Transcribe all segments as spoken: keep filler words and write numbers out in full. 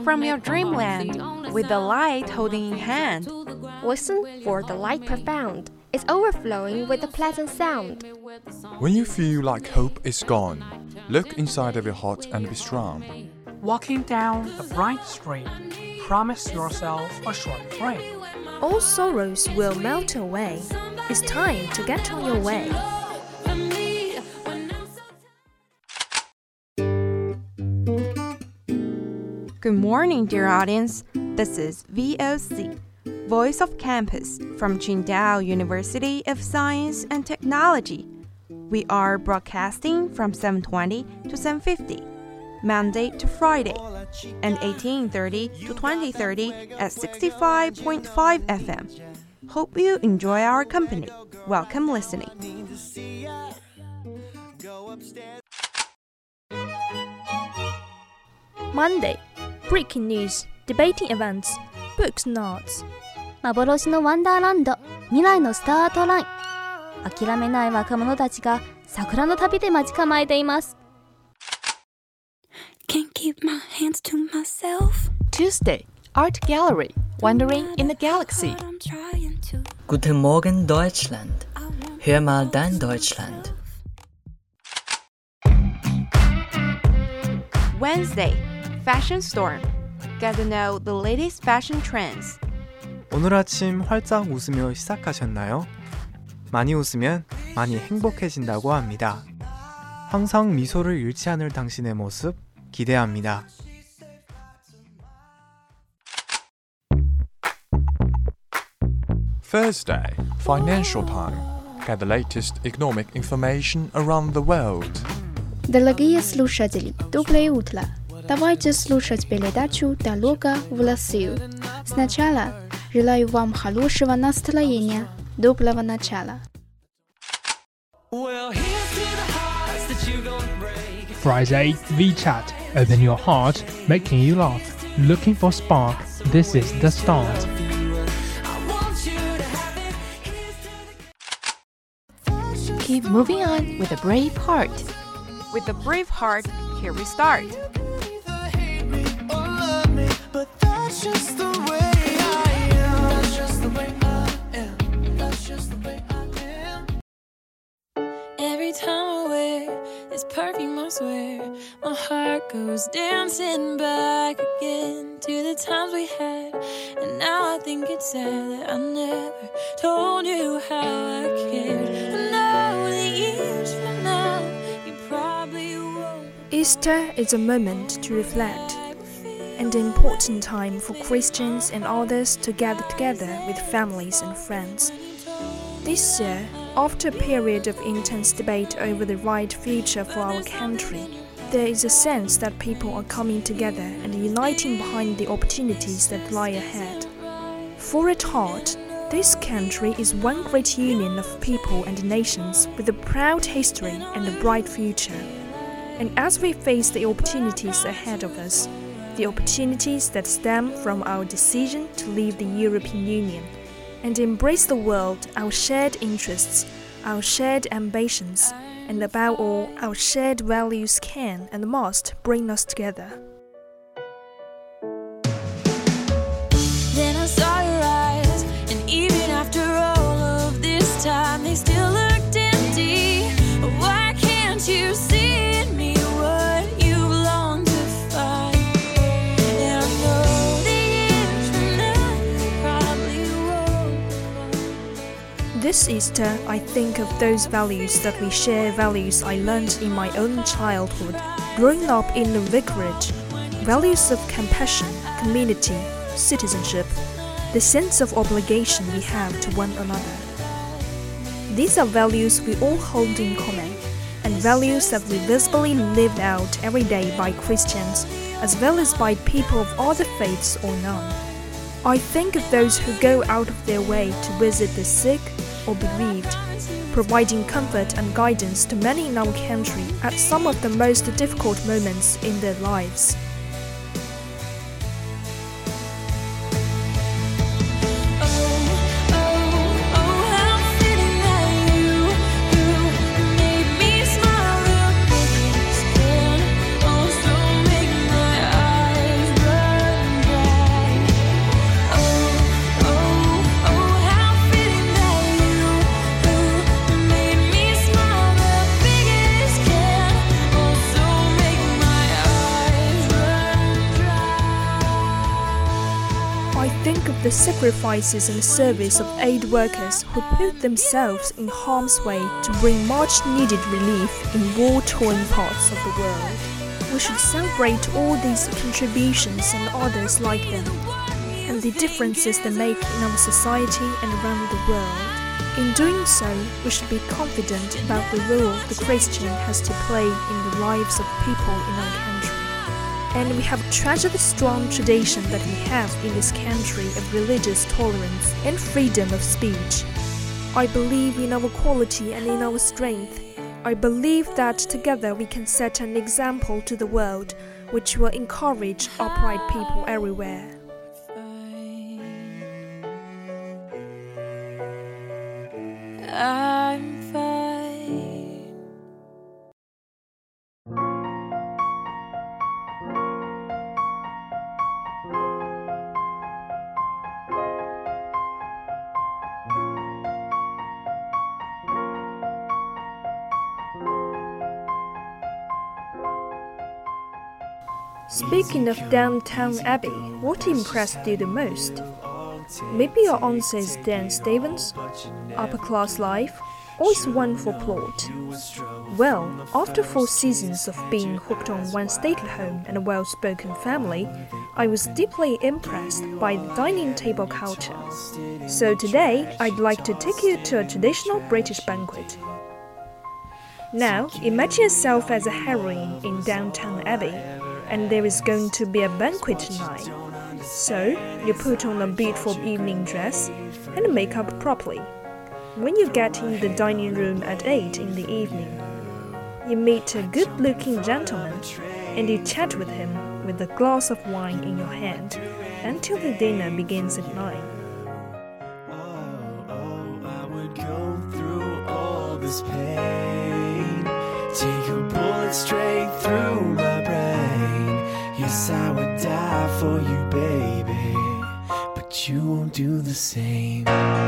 from your dreamland with the light holding in hand. Listen for the light profound. It's overflowing with a pleasant sound. When you feel like hope is gone, look inside of your heart and be strong. Walking down a bright street, promise yourself a short break. All sorrows will melt away. It's time to get on your way. Good morning, dear audience. This is V O C, Voice of Campus from Qingdao University of Science and Technology. We are broadcasting from seven twenty to seven fifty, Monday to Friday, and eighteen thirty to twenty thirty at sixty-five point five F M. Hope you enjoy our company. Welcome listening. Monday, breaking news, debating events, books and arts. 幻のワンダーランド、未来のスタートライン。諦めない若者たちが桜の旅で待ち構えています。 Can't keep my hands to myself. Tuesday, Art Gallery, Wandering in the Galaxy. Guten Morgen, Deutschland. Hör mal dein Deutschland. Wednesday, Fashion Storm. Get to know the latest fashion trends. 오늘 아침 활짝 웃으며 시작하셨나요? 많이 웃으면 많이 행복해진다고 합니다. 항상 미소를 잃지 않을 당신의 모습 기대합니다. Thursday, Financial Time. Get the latest economic information around the world. Дорогие слушатели, доброе утро. Давайте слушать передачу «Дорога в Россию». Сначала желаю вам хорошего настроения, доброго начала. Friday, VChat. Open your heart, making you laugh. Looking for spark. This is the start. Keep moving on with a brave heart. With a brave heart, here we start. Every time I wear this perfume, I swear my heart goes dancing back again to the times we had. And now I think it's sad that I never told you how I cared. I know that years from now you probably won't. Easter is a moment to reflect, and an important time for Christians and others to gather together with families and friends. This year, after a period of intense debate over the right future for our country, there is a sense that people are coming together and uniting behind the opportunities that lie ahead. For at heart, this country is one great union of people and nations with a proud history and a bright future. And as we face the opportunities ahead of us, the opportunities that stem from our decision to leave the European Union, and embrace the world, our shared interests, our shared ambitions, and above all, our shared values can and must bring us together. Then I saw your eyes, and even after all of this time, they still looked empty. Why can't you see in me what you long to find? And I know the years from now you probably won't. This Easter, I think of those values that we share, values I learned in my own childhood, growing up in the vicarage, values of compassion, community, citizenship, the sense of obligation we have to one another. These are values we all hold in common, and values that we visibly lived out every day by Christians, as well as by people of other faiths or none. I think of those who go out of their way to visit the sick or bereaved, providing comfort and guidance to many in our country at some of the most difficult moments in their lives. sacrifices and service of aid workers who put themselves in harm's way to bring much-needed relief in war-torn parts of the world. We should celebrate all these contributions and others like them, and the differences they make in our society and around the world. In doing so, we should be confident about the role the Christian has to play in the lives of people in our country. And we have treasured the strong tradition that we have in this country of religious tolerance and freedom of speech. I believe in our quality and in our strength. I believe that together we can set an example to the world which will encourage upright people everywhere. I'm fine. Speaking of Downton Abbey, what impressed you the most? Maybe your answer is Dan Stevens, upper class life, or is one for plot? Well, after four seasons of being hooked on one stately home and a well-spoken family, I was deeply impressed by the dining table culture. So today, I'd like to take you to a traditional British banquet. Now, imagine yourself as a heroine in Downton Abbey, and there is going to be a banquet tonight. So, you put on a beautiful evening dress and make up properly. When you get in the dining room at eight in the evening, you meet a good-looking gentleman and you chat with him with a glass of wine in your hand until the dinner begins at nine. Oh, oh, I would go through all this pain, take a bullet straight through my brain. Yes, I would die for you, baby, but you won't do the same.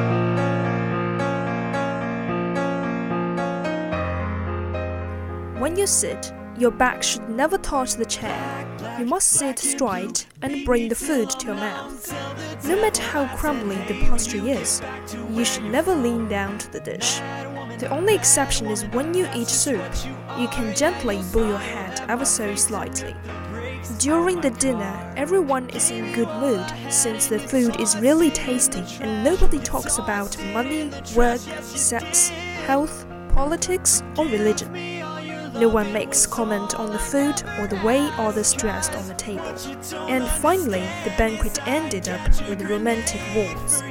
When you sit, your back should never touch the chair. You must sit straight and bring the food to your mouth. No matter how crumbly the pastry is, you should never lean down to the dish. The only exception is when you eat soup, you can gently bow your head ever so slightly. During the dinner, everyone is in good mood since the food is really tasty and nobody talks about money, work, sex, health, politics, or religion. No one makes comment on the food or the way others dressed on the table. And finally, the banquet ended up with a romantic waltz.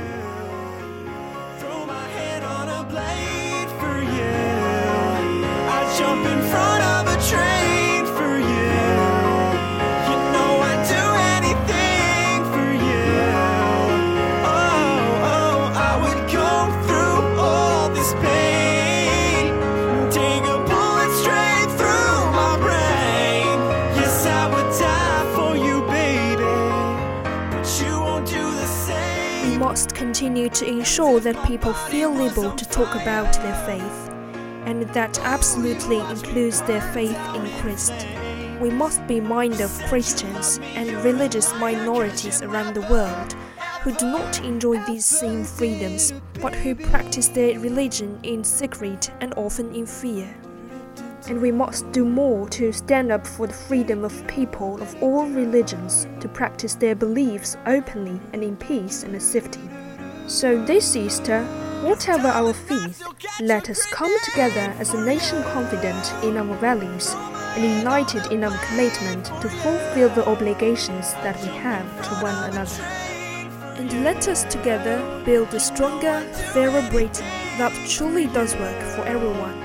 Jump in front of a train for you. You know I'd do anything for you. Oh, oh, I would go through all this pain, take a bullet straight through my brain. Yes, I would die for you, baby, but you won't do the same. We must continue to ensure that people feel able to talk about their faith, and that absolutely includes their faith in Christ. We must be mindful of Christians and religious minorities around the world who do not enjoy these same freedoms, but who practice their religion in secret and often in fear. And we must do more to stand up for the freedom of people of all religions to practice their beliefs openly and in peace and safety. So this Easter, whatever our faith, let us come together as a nation confident in our values and united in our commitment to fulfill the obligations that we have to one another. And let us together build a stronger, fairer Britain that truly does work for everyone.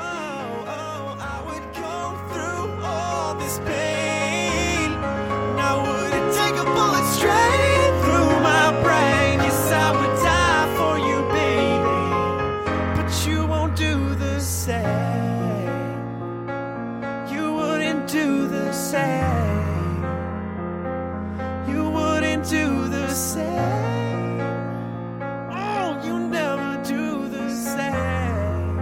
Do the same. You wouldn't do the same. Oh, you never do the same.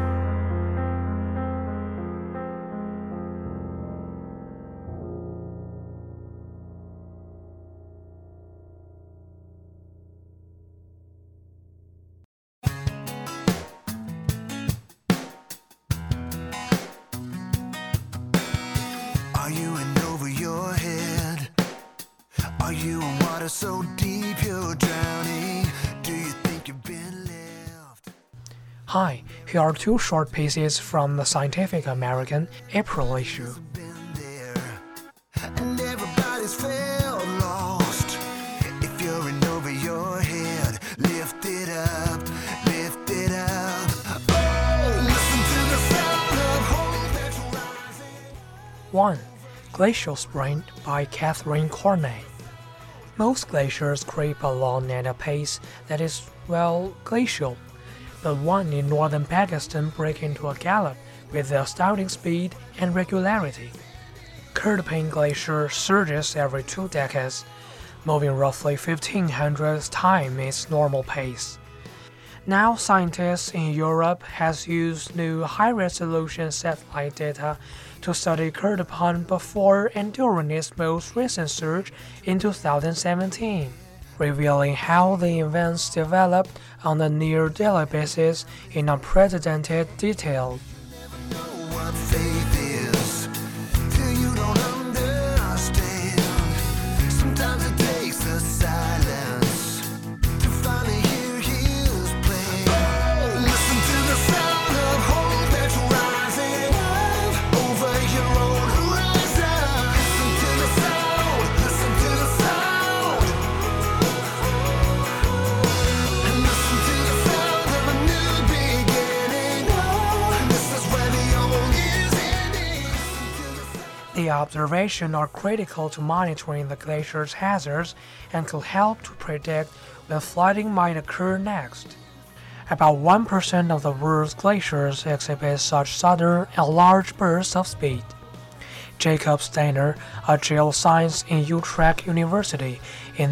so deep you're drowning. Do you think you've been left? Hi, here are two short pieces from the Scientific American April issue. And everybody's felt lost. If you're in over your head, lift it up, lift it up. Oh, listen to the sound of hope that's rising. one. Glacial Sprint by Catherine Cornet. Most glaciers creep along at a pace that is, well, glacial. But one in northern Pakistan breaks into a gallop with astounding speed and regularity. Kurtaping Glacier surges every two decades, moving roughly fifteen hundred times its normal pace. Now scientists in Europe has used new high-resolution satellite data to study Kurtaping before and during its most recent surge in two thousand seventeen, revealing how the events developed on a near-daily basis in unprecedented detail. What faith is till you don't understand. Sometimes it takes a silence to finally hear his plan. Listen to the sound of hope that's rising up over your own horizon. Listen to the sound, listen to the sound, and listen to the sound of a new beginning. Oh, this is where the old is ending. The observations are critical to monitoring the glacier's hazards and could help to predict when flooding might occur next. About one percent of the world's glaciers exhibit such sudden and large bursts of speed. Jacob Steiner, a geoscientist in Utrecht University in